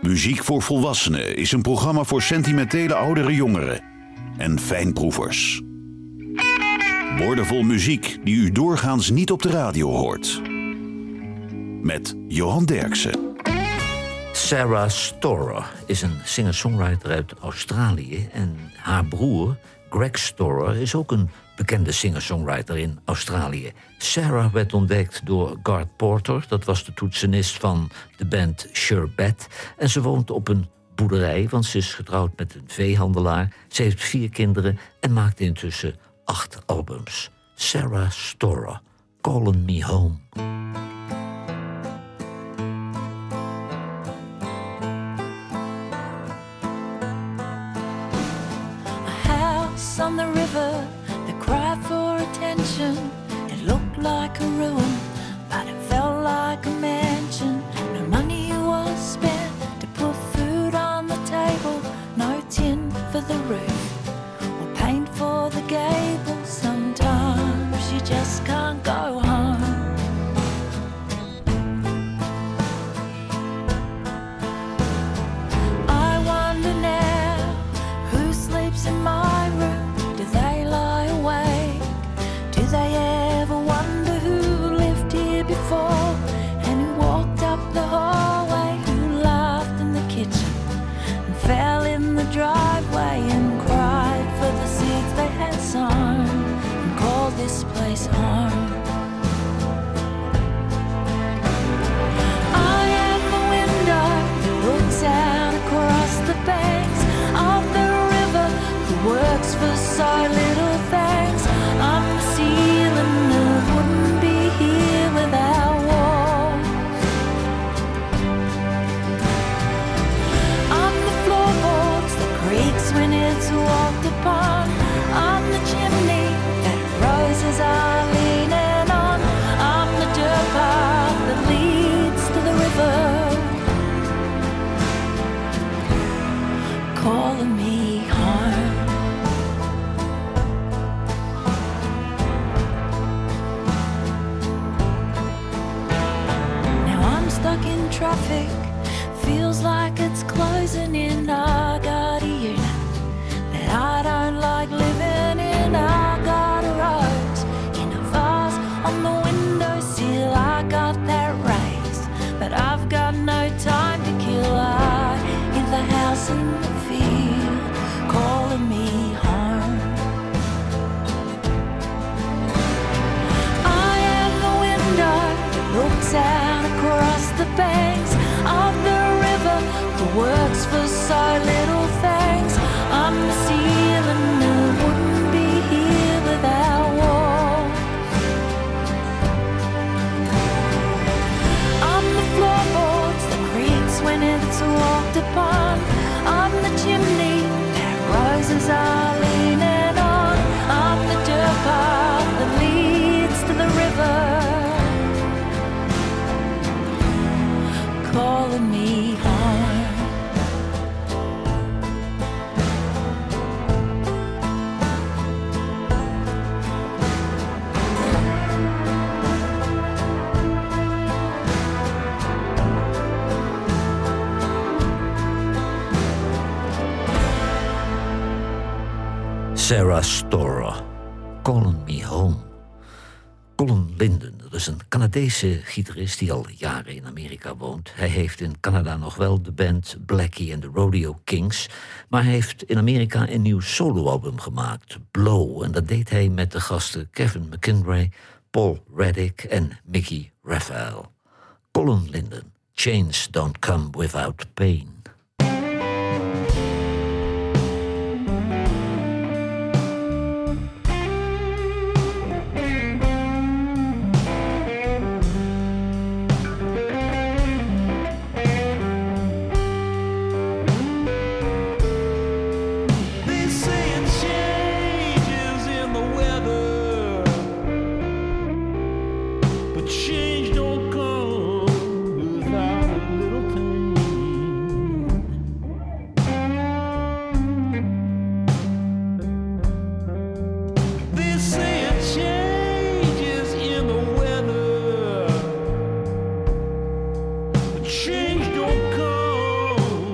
Muziek voor Volwassenen is een programma voor sentimentele oudere jongeren en fijnproevers. Woordenvol muziek die u doorgaans niet op de radio hoort. Met Johan Derksen. Sarah Storer is een singer-songwriter uit Australië en haar broer Greg Storer is ook een bekende singer-songwriter in Australië. Sarah werd ontdekt door Garth Porter, dat was de toetsenist van de band Sure Bet. En ze woont op een boerderij, want ze is getrouwd met een veehandelaar. Ze heeft 4 kinderen en maakt intussen 8 albums. Sarah Storer, Calling Me Home. On the river, they cried for attention. It looked like a ruin, but it felt like a mansion. No money was spent to put food on the table, no tin for the roof, or paint for the gable. Sometimes you just can't go home. I wonder now who sleeps in my room. They lie awake. Do they ever wonder who lived here before and who walked up the hallway, who laughed in the kitchen and fell in the driveway and cried for the seeds they had sown and called this place home? I am the window that looks out across the banks of the river that works for so little thanks. I'm the ceiling that wouldn't be here without walls. I'm the floorboards that creaks when it's walked upon. I'm the chimney that roses are leaning on. I'm the dirt path that leads to the river, calling me home. Stuck in traffic, feels like it's closing in. I got a unit that I don't like living in. I got a rose in a vase on the windowsill. I got that race, but I've got no time to kill. I hear the house in the field calling me home. I am the window that looks out across the banks of the river that works for so little thanks. I'm the ceiling that wouldn't be here without walls. I'm the floorboards that creaks when it's walked upon. I'm the chimney that roses are leaning on. I'm the dirt path that leads to the river, calling me home. Sarah Storer, Calling Me Home. Colin Linden, dat is een Canadese gitarist die al jaren in Amerika woont. Hij heeft in Canada nog wel de band Blackie and the Rodeo Kings, maar hij heeft in Amerika een nieuw soloalbum gemaakt, Blow. En dat deed hij met de gasten Kevin McIntyre, Paul Reddick en Mickey Raphael. Colin Linden, Chains Don't Come Without Pain. Change don't come without a little pain. change don't come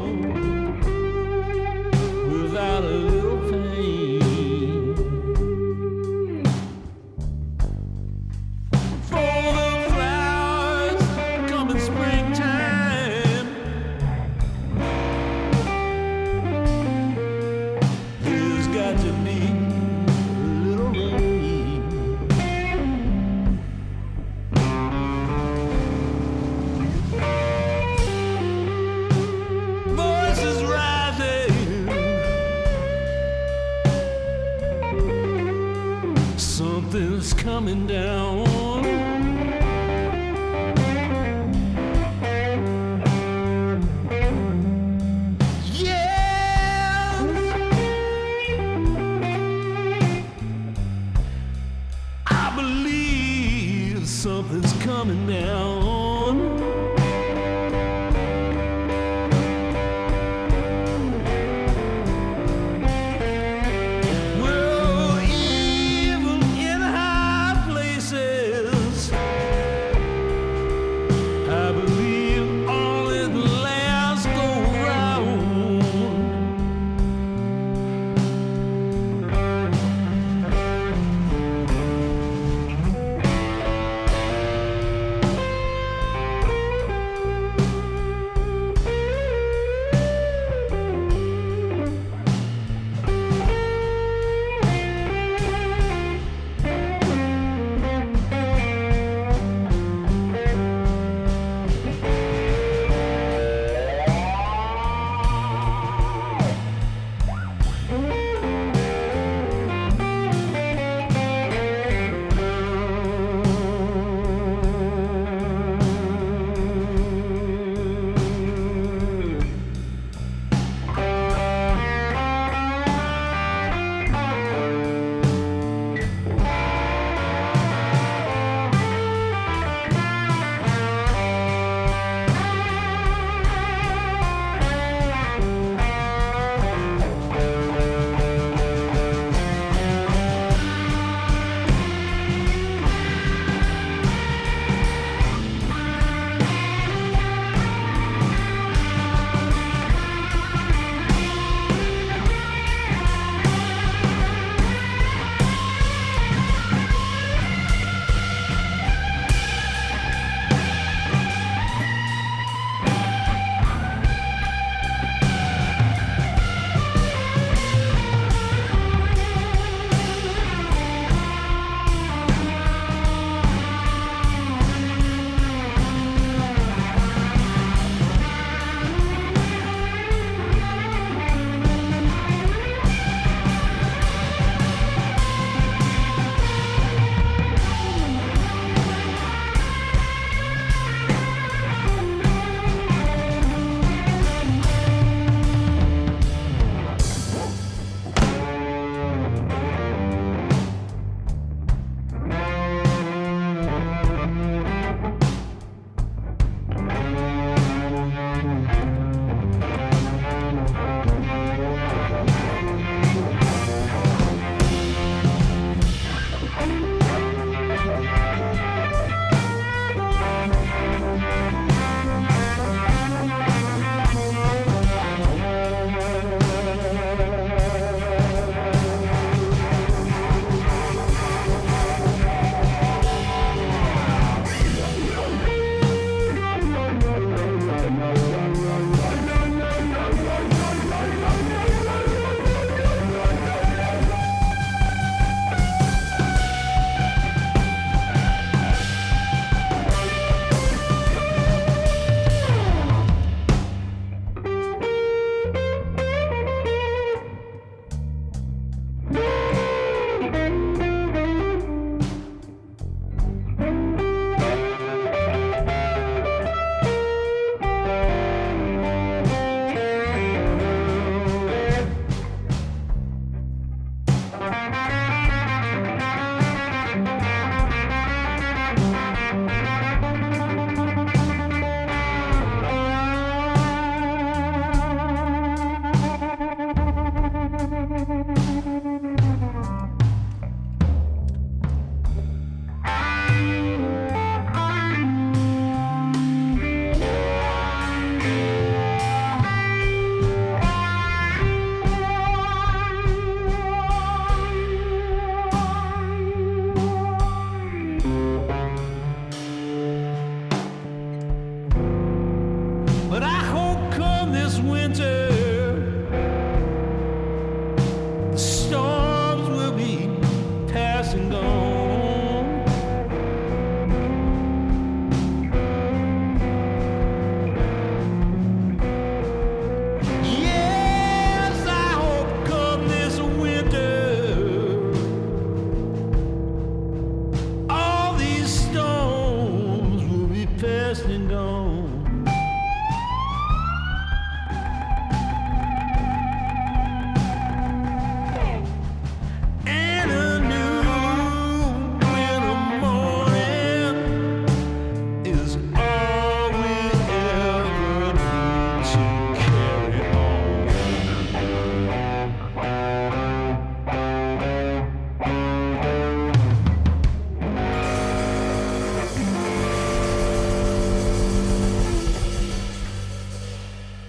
coming down. Something's coming down. Well, even in high places, I believe only the last go round.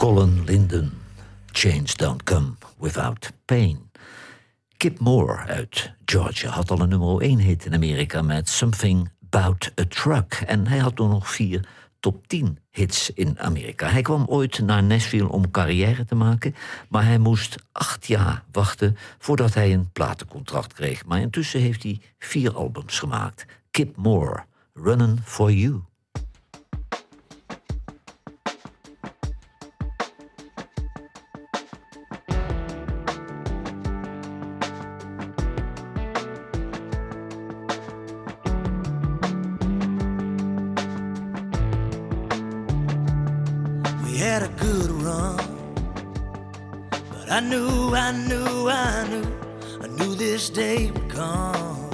Colin Linden, Change Don't Come Without Pain. Kip Moore uit Georgia had al een nummer 1 hit in Amerika met Something About a Truck. En hij had toen nog 4 top 10 hits in Amerika. Hij kwam ooit naar Nashville om carrière te maken, maar hij moest 8 jaar wachten voordat hij een platencontract kreeg. Maar intussen heeft hij 4 albums gemaakt. Kip Moore, Runnin' For You. Had a good run, but I knew this day would come.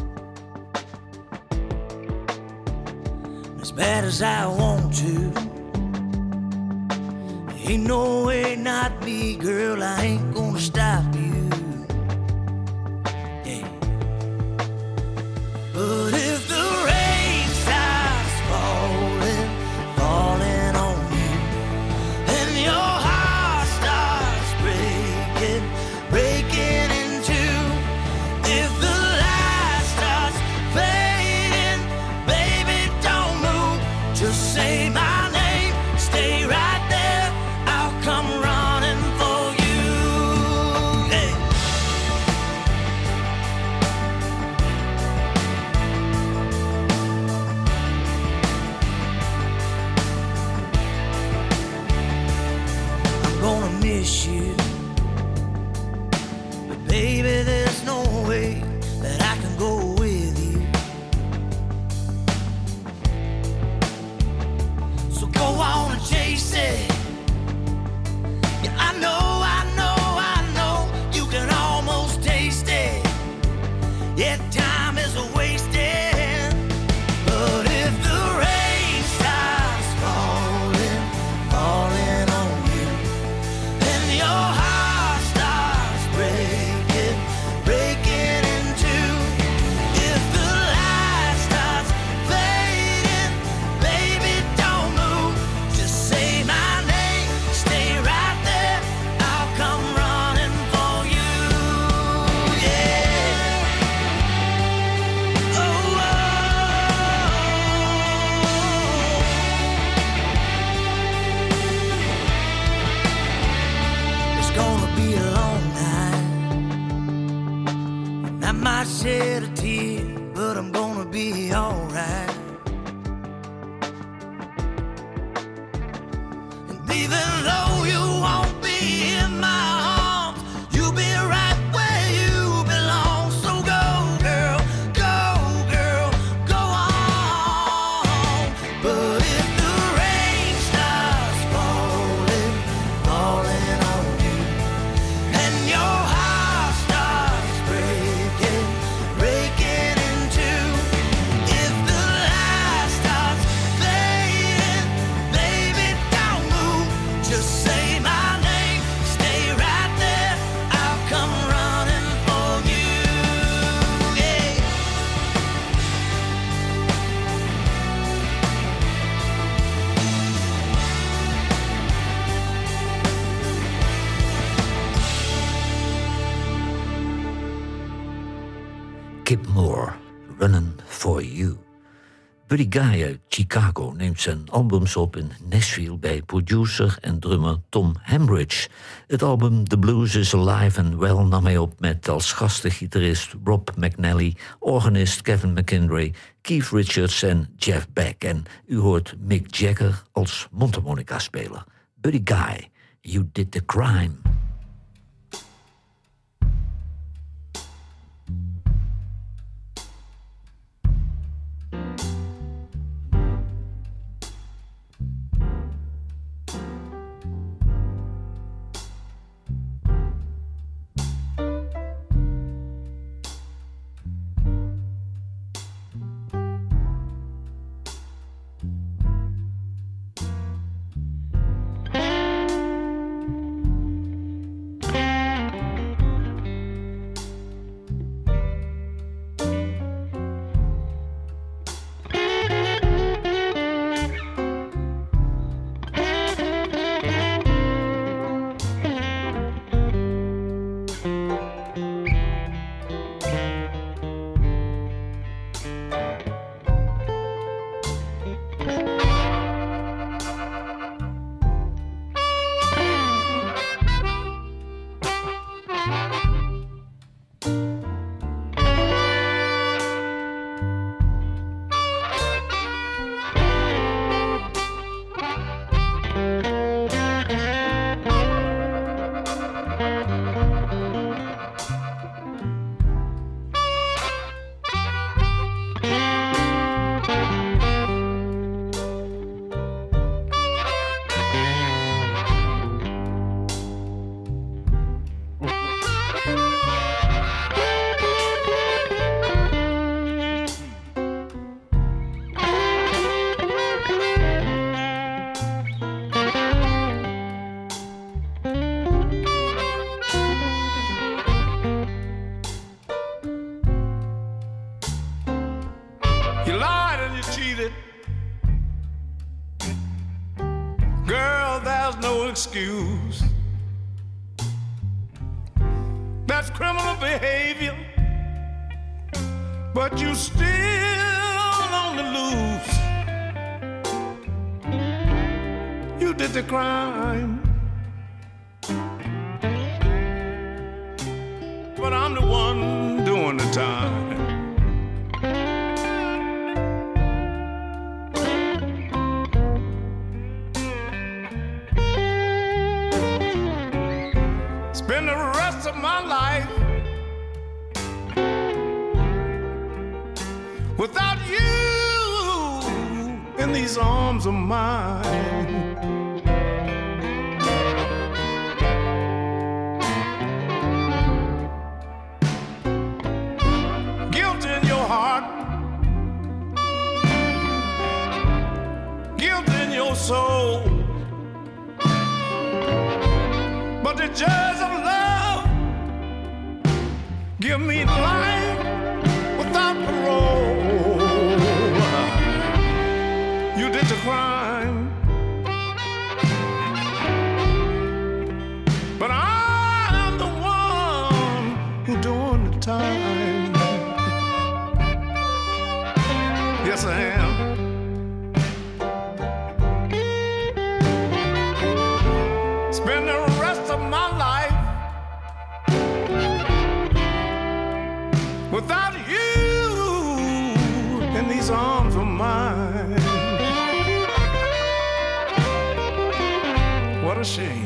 As bad as I want to, ain't no way, not me, girl, I ain't gonna stop you. Yeah. But if the rain starts falling, falling on you, and your heart starts breaking, breaking in two, if the light starts fading, baby, don't move, just say my name, stay right there, I'll come running for you. Yeah. I'm gonna miss you, but baby, there's no way that I can go with you. So go on and chase it. Yeah, I know, you can almost taste it. Yeah, time is wasted. But if the rain starts falling, falling on you, and your heart starts breaking, breaking in two, if the light starts fading, baby, don't move, just say my name, stay right there, I'll come running for you. Yeah. Oh, oh. It's gonna be a long night, and I might shed a tear, but I'm gonna be alright. And even though you won't be in my arms, you'll be right where you belong. So go, girl, go on. But if the rain starts falling, falling on you, and your heart starts breaking, breaking in two, if the light starts fading, baby, don't move, just say my name, stay right there, I'll come running for you. Yeah. Kip Moore, Runnin' For You. Buddy Guy uit Chicago neemt zijn albums op in Nashville bij producer en drummer Tom Hambridge. Het album The Blues is Alive and Well nam hij op met als gastengitarist Rob McNally, organist Kevin McKendry, Keith Richards en Jeff Beck. En u hoort Mick Jagger als mondharmonica-speler. Buddy Guy, You Did the Crime. excuse. That's criminal behavior, but you still on the loose. You did the crime, but I'm the one doing the time. Spend the rest of my life without you in these arms of mine. Guilt in your heart, guilt in your soul, but the judge of love give me life without parole. You did the crime, but I'm the one who doing the time. Yes, I am. Spend the rest of my life without you in these arms of mine. What a shame.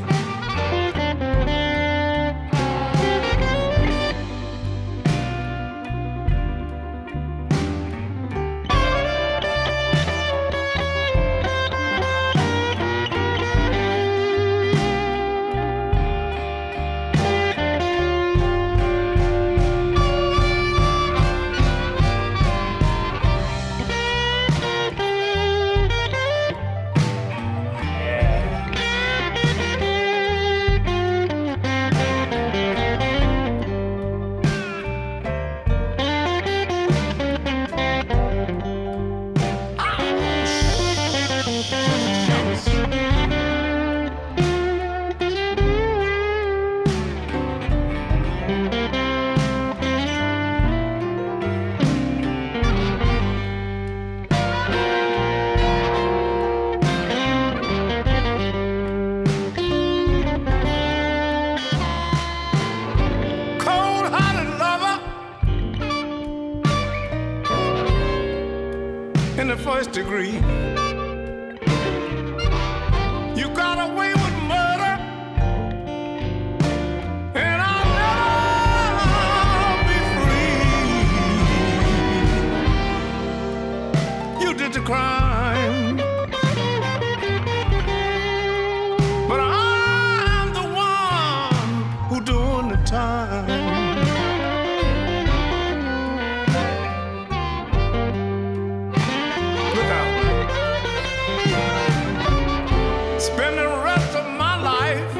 In the first degree, you got away with murder, and I'll never be free. You did the crime, but I'm the one who doing the time. Spend the rest of my life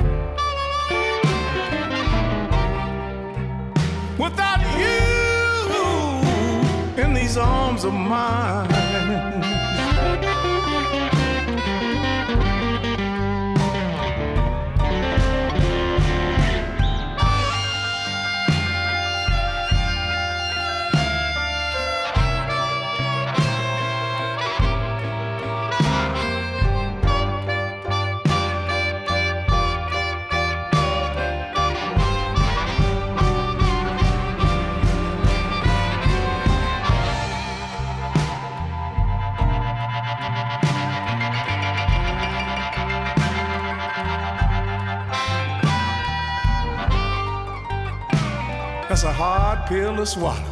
without you in these arms of mine. That's a hard pill to swallow.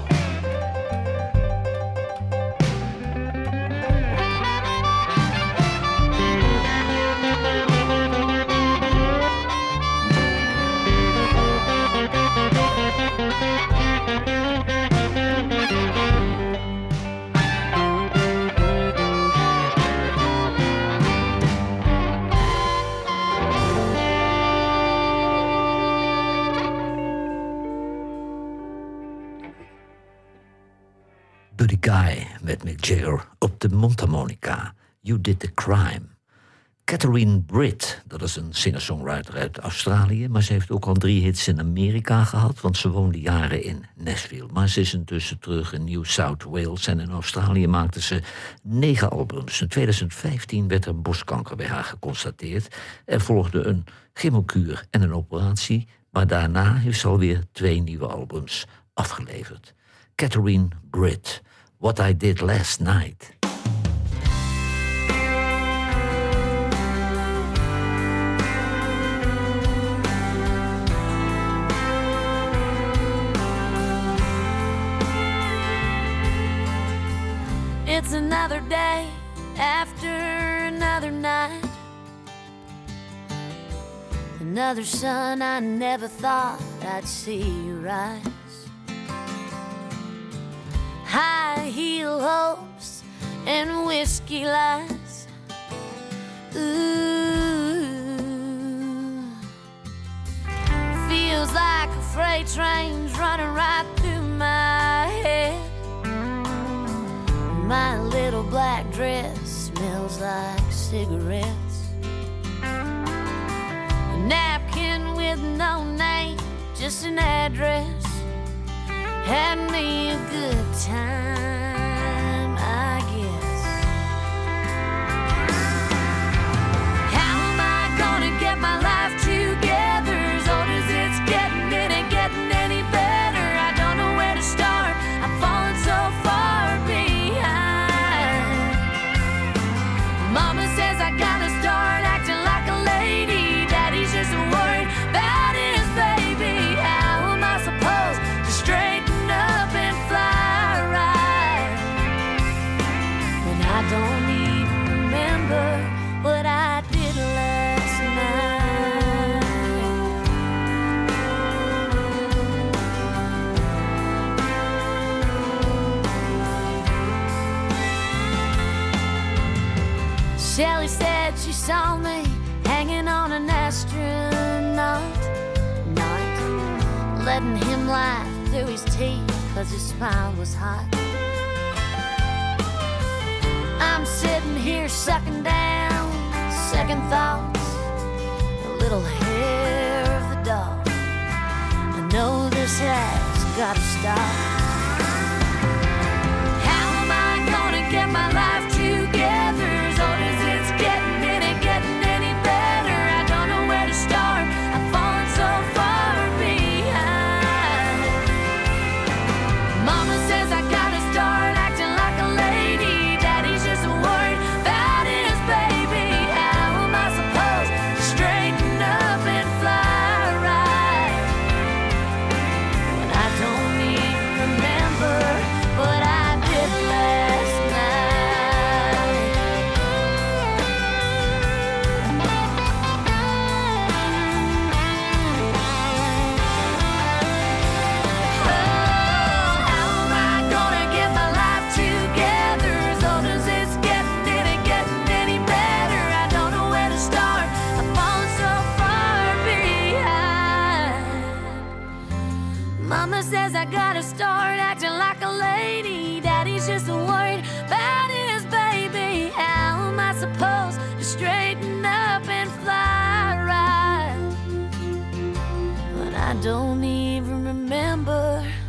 Buddy Guy met Mick Jagger op de mondharmonica. You Did the Crime. Catherine Britt, dat is een singer-songwriter uit Australië, maar ze heeft ook al 3 hits in Amerika gehad, want ze woonde jaren in Nashville. Maar ze is intussen terug in New South Wales en in Australië maakte ze 9 albums. In 2015 werd er borstkanker bij haar geconstateerd. Er volgde een chemokuur en een operatie, maar daarna heeft ze alweer 2 nieuwe albums afgeleverd. Catherine Britt, What I Did Last Night. It's another day after another night. Another sun I never thought I'd see rise. High heel hopes and whiskey lies. Ooh, feels like a freight train's running right through my head. My little black dress smells like cigarettes. A napkin with no name, just an address. Had me a good time, I guess. How am I gonna get my life together? As old as it's getting, it ain't getting any better. I don't know where to start, I've fallen so far behind. Mama says I gotta start acting like a lady. Daddy's just worried about his baby. How am I supposed to straighten up and fly right when I don't even remember what I did last night? Shelly said she saw me hanging on an astronaut night, letting him laugh through his teeth 'cause his smile was hot. I'm sitting here sucking down second thoughts, a little hair of the dog. I know this has gotta stop. How am I gonna get my life together? As old as it's getting, it ain't getting any better. I don't know where to start, I've fallen so far behind. Mama says I gotta start acting like a lady. Daddy's just worried about his baby. How am I supposed to straighten up and fly right when I don't even remember what I did last night? Oh, how am I gonna get my life together? As old as it's getting, it ain't getting any better. I don't know where to start, I've fallen so far behind. Mama says I gotta start acting like a lady. Daddy's just worried about his baby. How am I supposed to straighten up and fly right when I don't even remember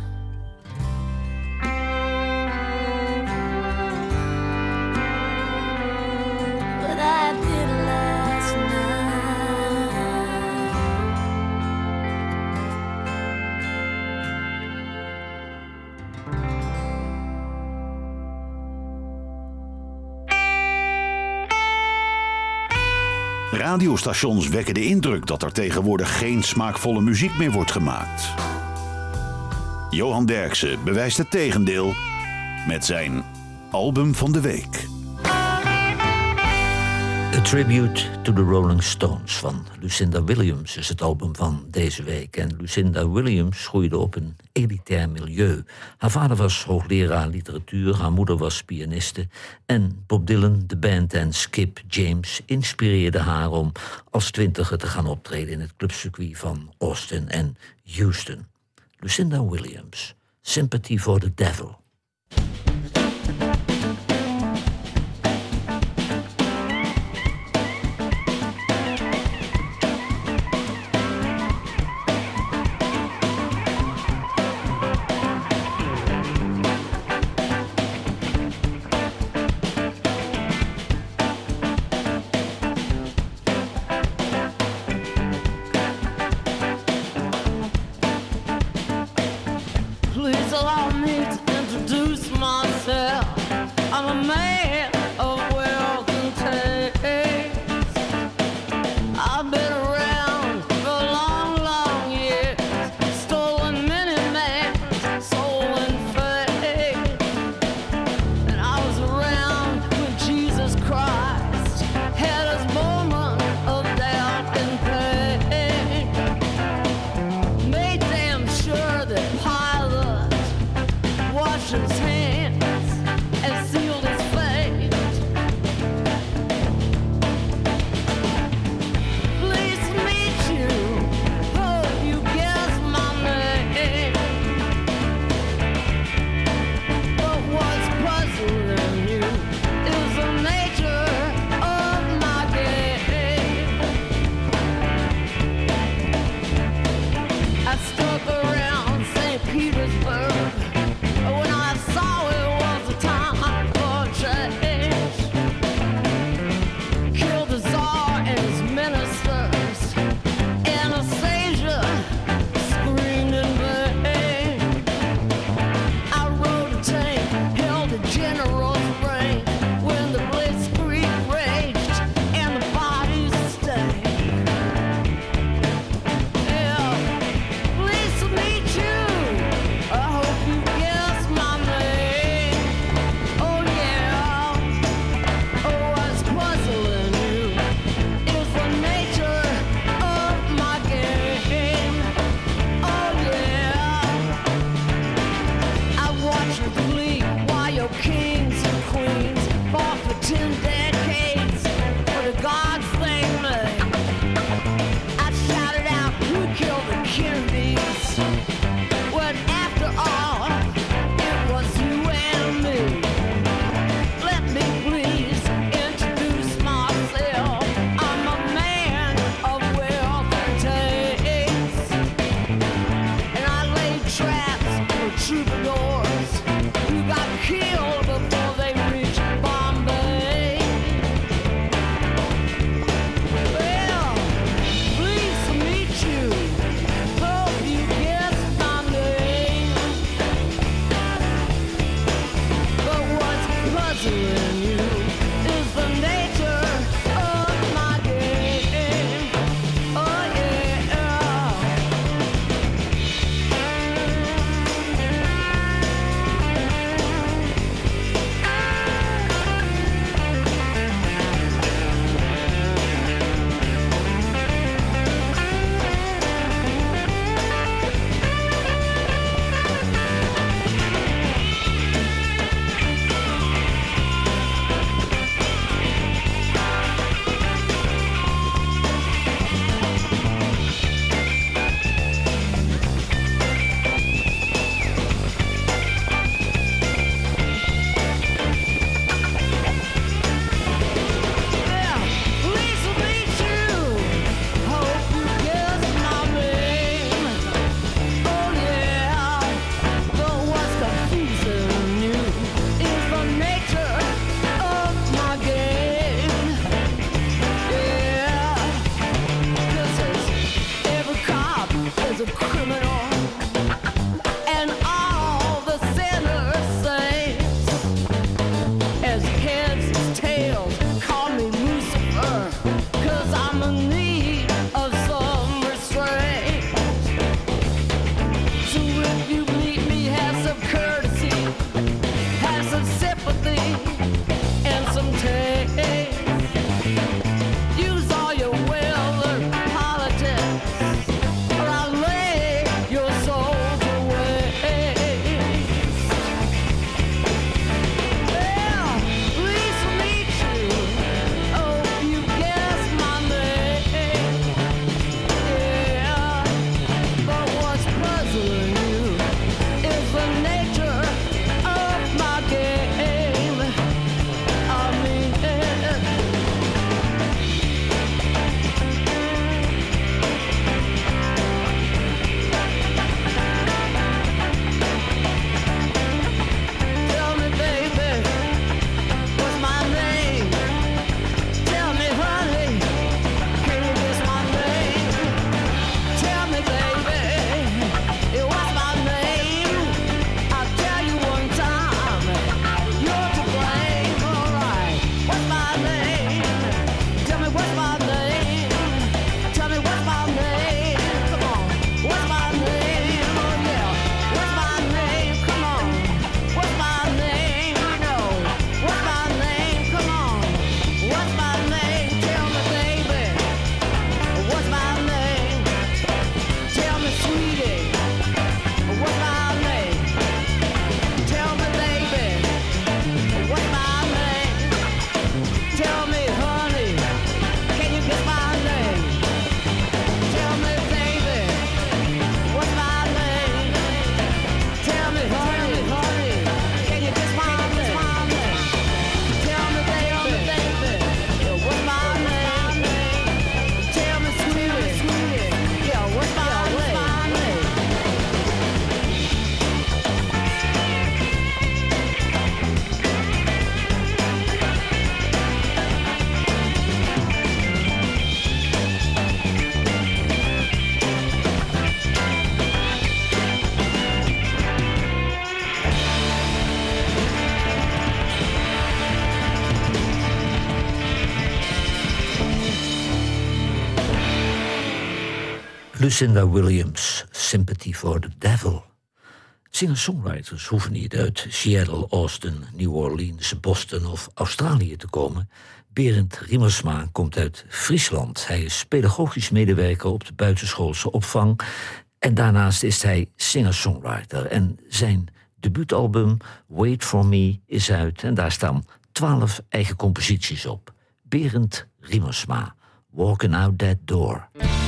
what I did last night? Radiostations wekken de indruk dat er tegenwoordig geen smaakvolle muziek meer wordt gemaakt. Johan Derksen bewijst het tegendeel met zijn album van de week. A Tribute to the Rolling Stones van Lucinda Williams is het album van deze week. En Lucinda Williams groeide op een elitair milieu. Haar vader was hoogleraar literatuur, haar moeder was pianiste. En Bob Dylan, de band en Skip James inspireerden haar om als 20er te gaan optreden in het clubcircuit van Austin en Houston. Lucinda Williams, Sympathy for the Devil. I've been around for long, long years, stolen many man's soul and faith. And I was around when Jesus Christ had his moment of doubt and pain. Made damn sure that Pilate washed his hands and sealed his fate. Please Lucinda Williams, Sympathy for the Devil. Singer-songwriters hoeven niet uit Seattle, Austin, New Orleans, Boston of Australië te komen. Berend Riemersma komt uit Friesland. Hij is pedagogisch medewerker op de buitenschoolse opvang. En daarnaast is hij singer-songwriter. En zijn debuutalbum Wait For Me is uit. En daar staan 12 eigen composities op. Berend Riemersma, Walking Out That Door.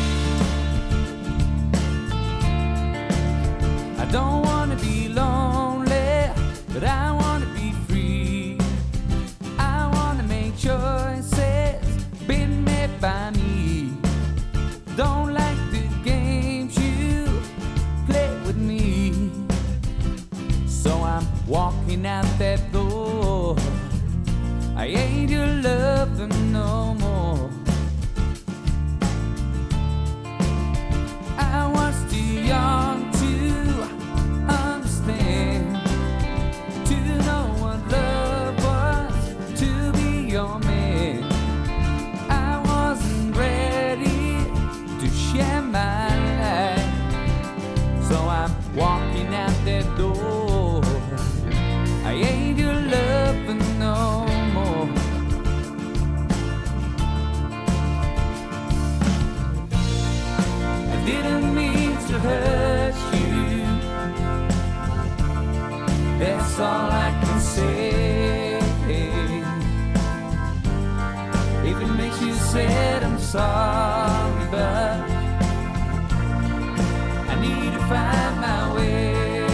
I don't wanna be lonely, but I wanna be free. I wanna make choices been made by me. Don't like the games you play with me. So I'm walking out that door. I ain't your lover no more. I was too young to understand, to know what love was, to be your man. I wasn't ready to share my life, so I'm walking out that door. I ain't your lover no more. I didn't mean to hurt you, that's all I can say. If it makes you sad, I'm sorry, but I need to find my way.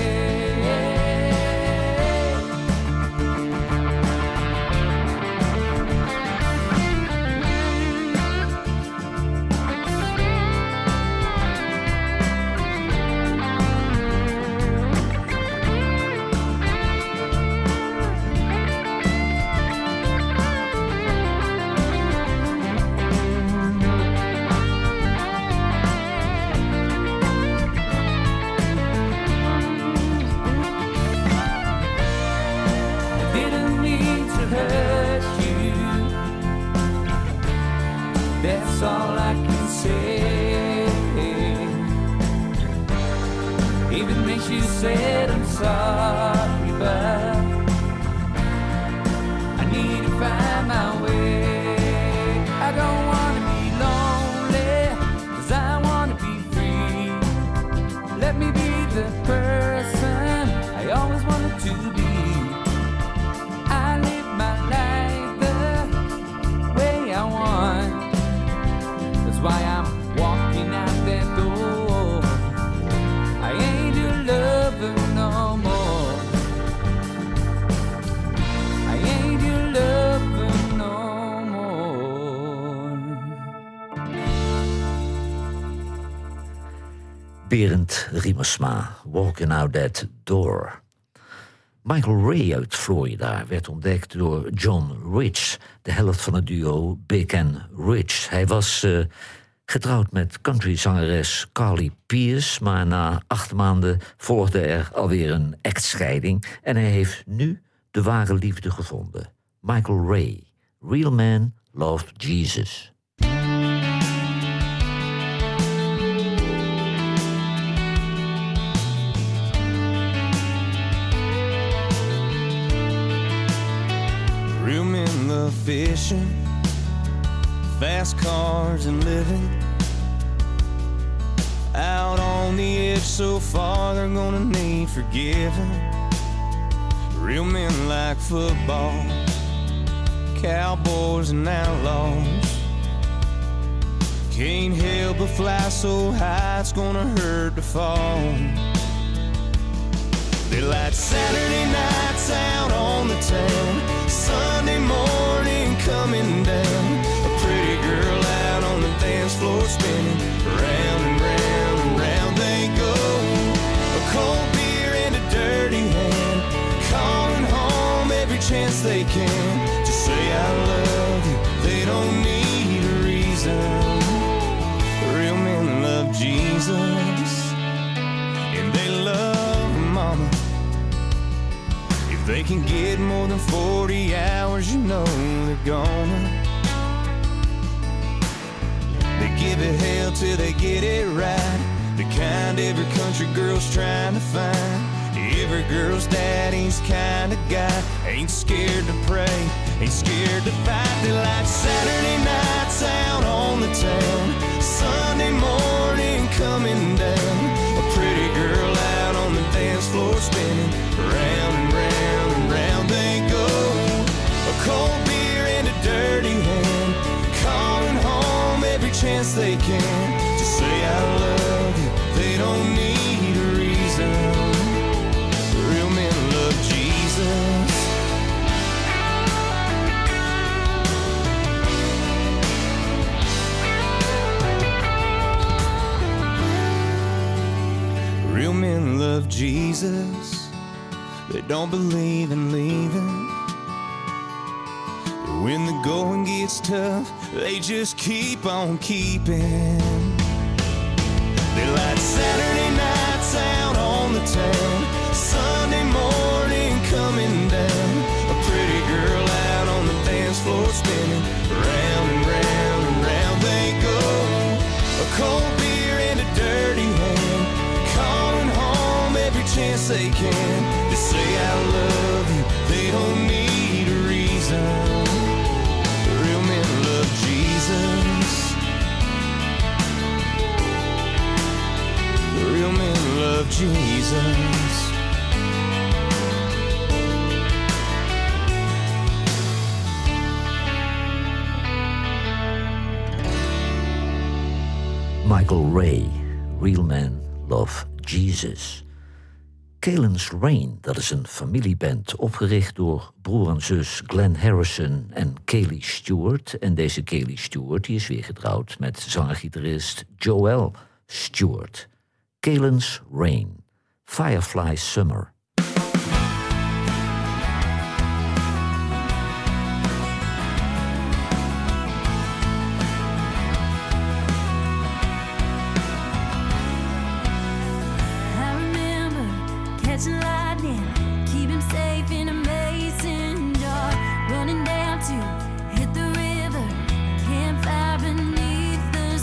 Hurt you, that's all I can say. If it makes you sad, I'm sorry, but I need to find my way. I don't wanna be lonely, 'cause I wanna be free. Let me be the person I always wanted to be. Why I'm walking out that door. I ain't your lover no more. I ain't your lover no more. Berend Riemersma, Walking Out That Door. Michael Ray uit Florida werd ontdekt door John Rich, de helft van het duo Big and Rich. Hij was getrouwd met countryzangeres Carly Pearce, maar na 8 maanden volgde er alweer een echtscheiding en hij heeft nu de ware liefde gevonden. Michael Ray, Real Man Loved Jesus. Real men love fishing, fast cars and living out on the edge so far they're gonna need forgiving. Real men like football, cowboys and outlaws. Can't help but fly so high it's gonna hurt to fall. They light Saturday nights out on the town, Sunday morning coming down. A pretty girl out on the dance floor spinning round and round and round they go. A cold beer and a dirty hand, calling home every chance they can to say I love you. They don't need a reason. Real men love Jesus and they love mama. If they can get more than 40 hours, you know they're gonna. They give it hell love till they get it right. The kind every country girl's trying to find. Every girl's daddy's kind of guy. Ain't scared to pray, ain't scared to fight. They like Saturday nights out on the town, Sunday morning coming down. A pretty girl out on the dance floor spinning round and round and round they go. A cold beer and a dirty hand, calling home every chance they can to say I love you. They don't need a reason. Real men love Jesus. Real men love Jesus. They don't believe in leaving. When the going gets tough, they just keep on keeping. They light Saturday nights out on the town, Sunday morning coming down. A pretty girl out on the dance floor spinning round and round and round they go. A cold beer and a dirty hand, calling home every chance they can to say I love you. They don't need a reason. Real men love Jesus. Real men love Jesus. Michael Ray, Real Men Love Jesus. Kalen's Rain, dat is een familieband opgericht door broer en zus Glenn Harrison en Kaylee Stewart. En deze Kaylee Stewart die is weer getrouwd met zanger-gitarist Joel Stewart. Kalen's Rain, Firefly Summer. I remember catching lightning, keep him safe in a mason jar, running down to hit the river, campfire beneath the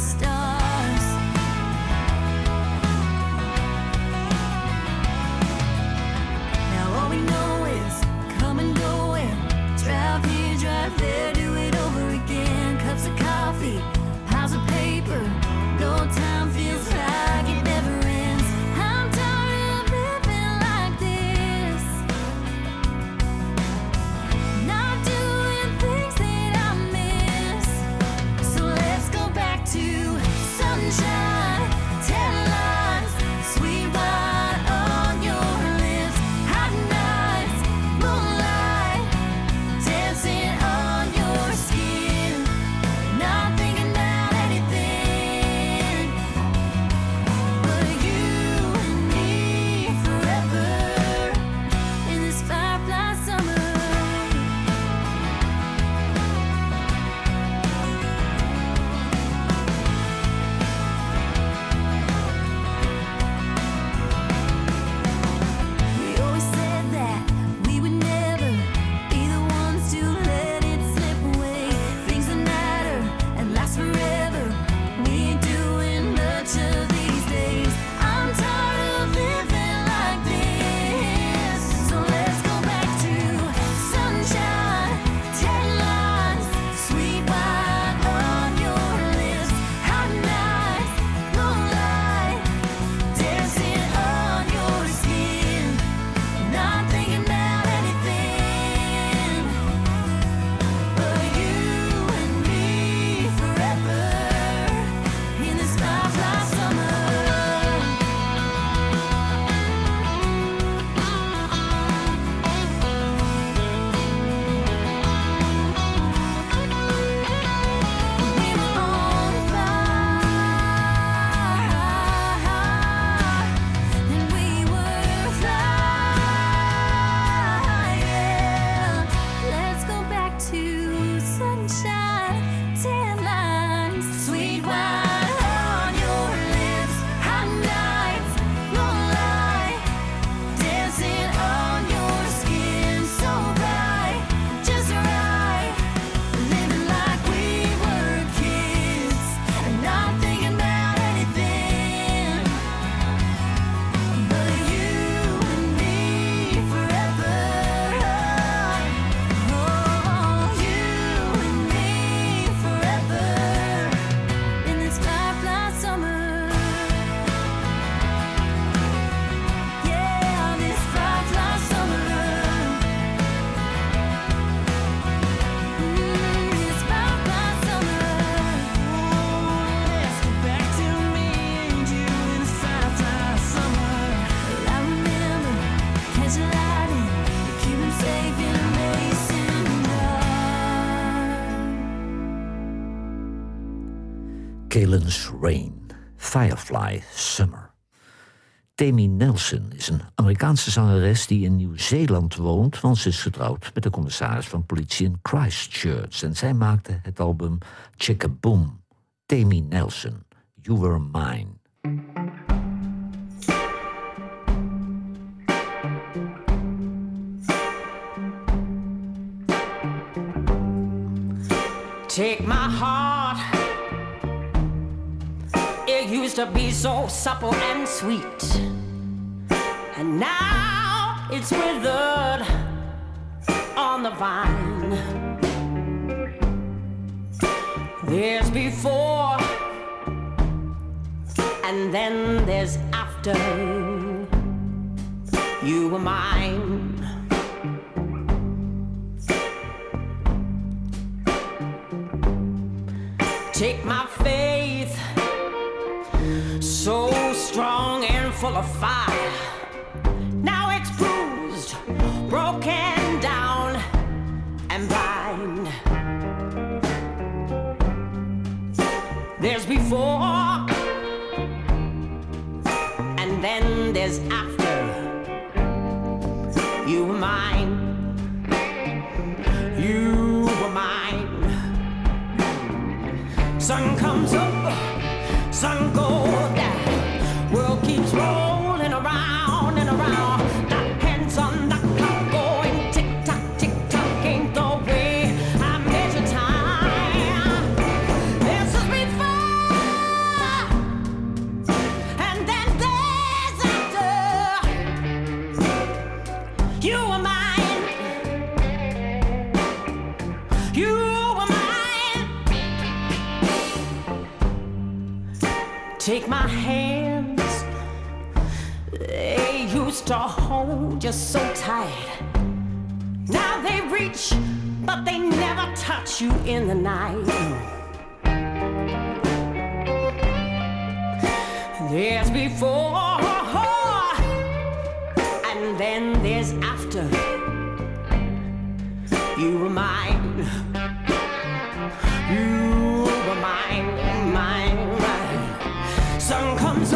stars. Heaven's Rain, Firefly Summer. Tammy Nelson is een Amerikaanse zangeres die in Nieuw-Zeeland woont, want ze is getrouwd met de commissaris van politie in Christchurch. En zij maakte het album Chickaboom. Tammy Nelson, You Were Mine. Take my heart. It used to be so supple and sweet, and now it's withered on the vine. There's before, and then there's after. You were mine. Take my faith, so strong and full of fire. Now it's bruised, broken down, and blind. There's before, and then there's after. You were mine. You were mine. Sun comes up, sun goes down. World keeps rolling around and around. The hands on the clock going tick tock, ain't the way I measure time. This is before, and then there's after. You were mine. You were mine. Take my hands, they used to hold you so tight. Now they reach, but they never touch you in the night. There's before, and then there's after. You were mine. You were mine, mine, mine. Sun comes